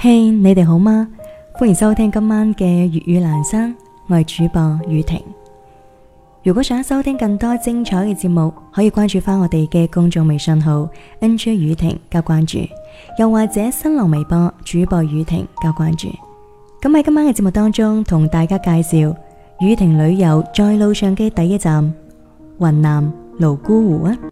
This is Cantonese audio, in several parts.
嘿，你哋好嗎？歡迎收聽今晚嘅粵語闌珊，我係主播宇婷。如果想收聽更多精彩嘅節目，可以關注翻我哋嘅公眾微信號 NJ 宇婷加關注，又或者新浪微博主播宇婷加關注。咁喺今晚嘅節目當中，同大家介紹宇婷旅遊在路上嘅第一站雲南瀘沽湖啊！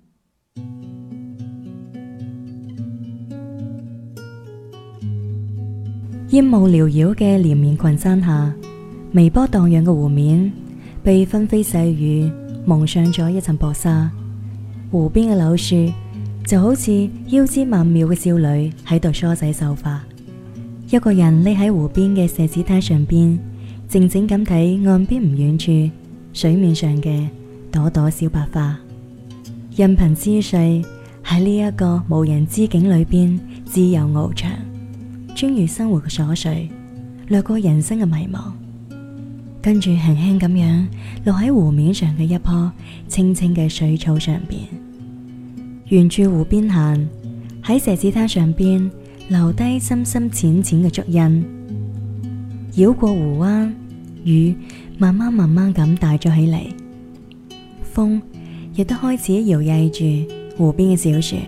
煙霧繚繞嘅連綿群山下，微波蕩漾嘅湖面被紛飛細雨蒙上咗一層薄紗。湖邊嘅柳樹就好似腰肢曼妙嘅少女喺度梳洗秀髮。一個人匿喺湖邊嘅石子灘上邊，靜靜咁睇岸邊唔遠處水面上嘅朵朵小白花。任憑思緒喺呢一個無人之境裏邊自由翱翔，穿越生活嘅瑣碎，掠過人生嘅迷茫，跟住輕輕咁樣落喺湖面上嘅一棵青青嘅水草上邊，沿住湖邊行，喺石子灘上邊留低深深淺淺嘅足印，繞過湖灣，雨慢慢咁大咗起嚟，風亦都開始搖曳住湖邊嘅小樹。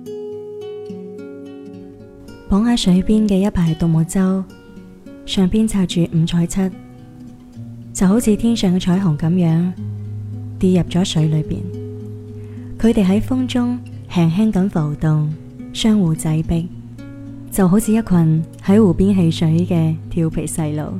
綁喺水邊嘅一排獨木舟，上邊插住五彩漆，就好似天上嘅彩虹咁樣跌入咗水裏邊。佢哋喺風中輕輕咁浮動，相互擠逼，就好似一群喺湖邊戲水嘅調皮細路。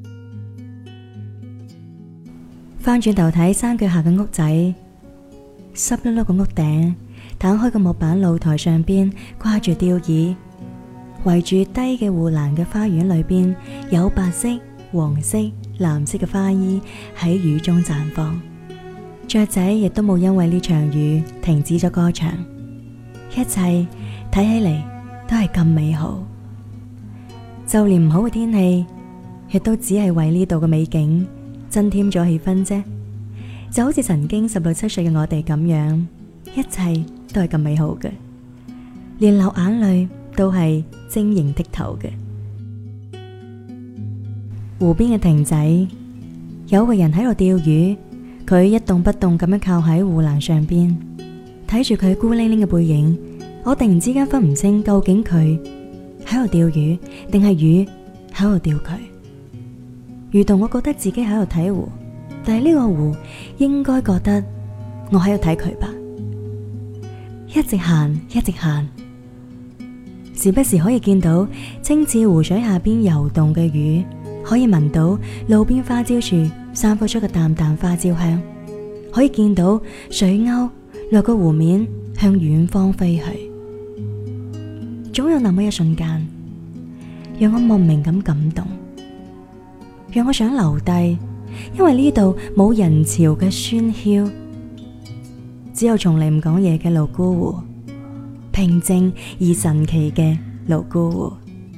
翻轉頭睇山腳下嘅屋仔，濕漉漉嘅屋頂，攤開嘅木板露台上邊掛住吊椅，圍住低嘅護欄嘅花園裏邊，有白色、黃色、藍色嘅花衣喺雨中綻放。雀仔亦都冇因為呢場雨停止咗歌唱，一切睇起嚟都係咁美好。就連唔好嘅天氣，亦都只係為呢度嘅美景增添咗氣氛啫。就好似曾經16、17歲嘅我哋咁樣，一切都係咁美好嘅，連流眼淚都係晶瑩剔透嘅。湖邊嘅亭仔，有個人喺度釣魚，佢一動不動咁樣靠喺護欄上邊，睇住佢孤零零嘅背影，我突然之間分唔清究竟佢喺度釣魚，定係魚喺度釣佢。如同我覺得自己喺度睇湖，但係呢個湖應該覺得我喺度睇佢吧。一直行，一直行，時不時可以見到清澈湖水下邊游動嘅魚，可以聞到路邊花椒樹散發出嘅淡淡花椒香，可以見到水鷗掠過湖面向遠方飛去。總有那麼一瞬間，讓我莫名咁感動，讓我想留低，因為呢度冇人潮嘅喧囂，只有從嚟唔講嘢嘅瀘沽湖，平靜而神奇嘅瀘沽湖。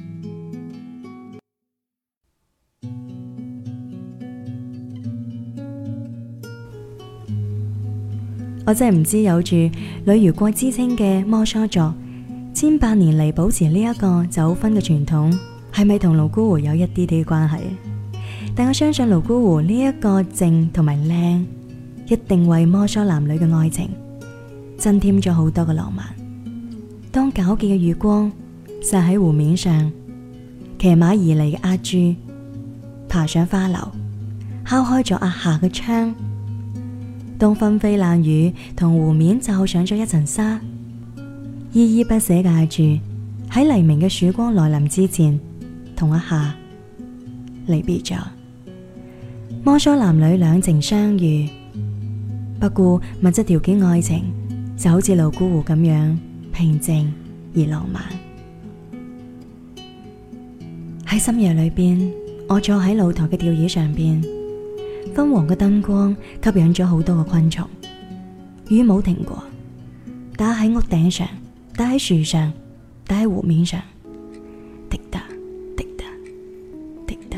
我真係唔知有住女兒國之稱嘅摩梭族，千百年嚟保持呢一個走婚嘅傳統，係咪同瀘沽湖有一啲啲關係？但我相信瀘沽湖呢一個靜同埋靚，一定為摩梭男女嘅愛情增添咗好多嘅浪漫。當皎潔嘅月光灑喺湖面上，騎馬而嚟嘅阿珠爬上花樓，敲開咗阿夏嘅窗。當紛飛冷雨同湖面罩上咗一層紗，依依不捨嘅阿珠喺黎明嘅曙光來臨之前，同阿夏離別咗。摩梭男女兩情相悅，不顧物質條件，愛情就好似瀘沽湖咁樣平靜而浪漫。喺深夜裏邊，我坐喺露台嘅吊椅上邊，昏黃嘅燈光吸引咗好多嘅昆蟲。雨冇停過，打喺屋頂上，打喺樹上，打喺湖面上，滴答滴答滴答。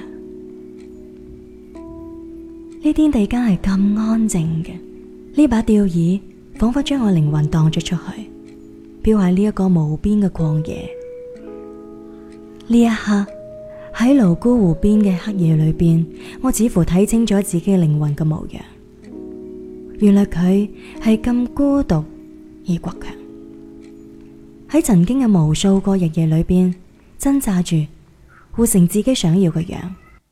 呢天地間係咁安靜嘅，呢把吊椅仿佛將我靈魂蕩咗出去，飄喺呢一個無邊嘅曠野。 呢一刻喺瀘沽湖邊嘅黑夜裏邊，我似乎睇清咗自己靈魂嘅模樣。原來佢係咁孤獨而倔強，喺曾經嘅無數個日夜裏邊掙扎住活成自己想要嘅樣。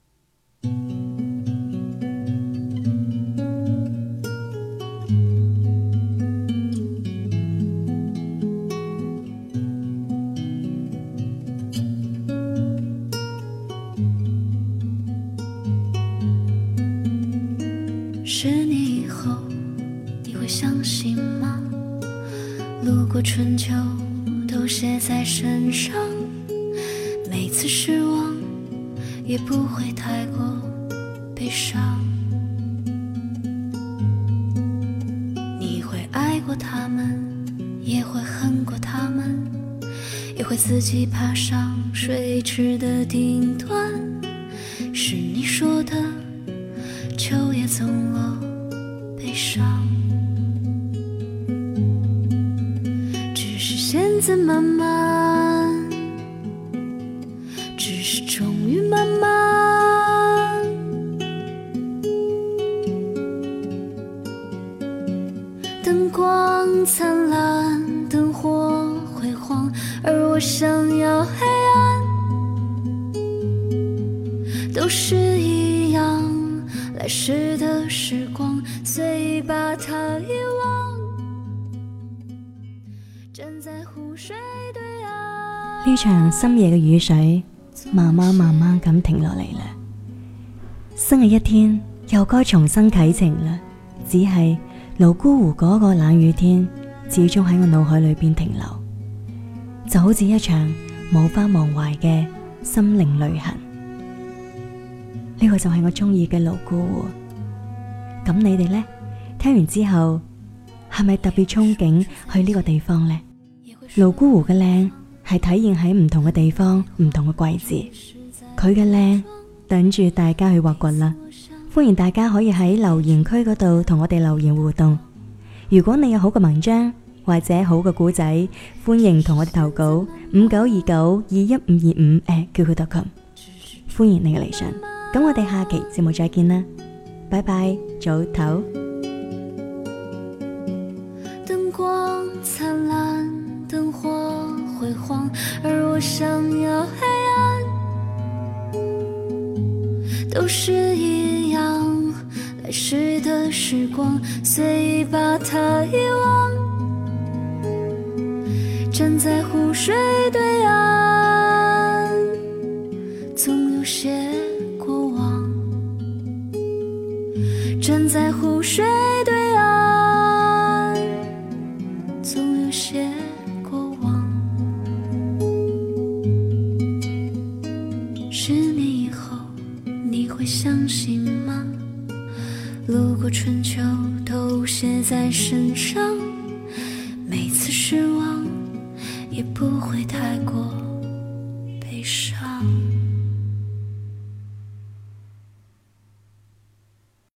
10年以後你會相信嗎？路過春秋都寫在身上，每次失望也不會太過悲傷。你會愛過他們，也會恨過他們，也會自己爬上水池的頂端。是你說的秋也總落悲傷，只是現在慢慢，只是終於慢慢，燈光燦爛，燈火輝煌，而我想要黑暗，都是一樣，來時的時光隨意把它遺忘，站在湖水對岸。 呢場深夜嘅雨水慢慢咁停落嚟啦，新嘅一天又該重新啟程啦。只係瀘沽湖嗰個冷雨天始終喺我腦海裏邊停留，就好似一場無法忘懷嘅心靈旅行。呢個就係我中意嘅瀘沽湖。咁你哋呢？聽完之後係咪特別憧憬去呢個地方呢？瀘沽湖嘅靚係體現喺唔同嘅地方、唔同嘅季節，佢嘅靚等住大家去挖掘啦。歡迎大家可以喺留言區嗰度同我哋留言互動。如果你有好嘅文章或者好嘅故仔，歡迎同我哋投稿5929215525@qq.com，歡迎你嘅嚟信。咁我哋下期節目再見啦，拜拜，早唞。 燈光燦爛，燈火輝煌，而我想要黑暗，都是一樣，來時的時光隨意把它遺忘，站在湖水對岸，總有些過往，站在湖水對岸，總有些過往。10年以後你會相信嗎？路過春秋都寫在身上，每次失望也不會太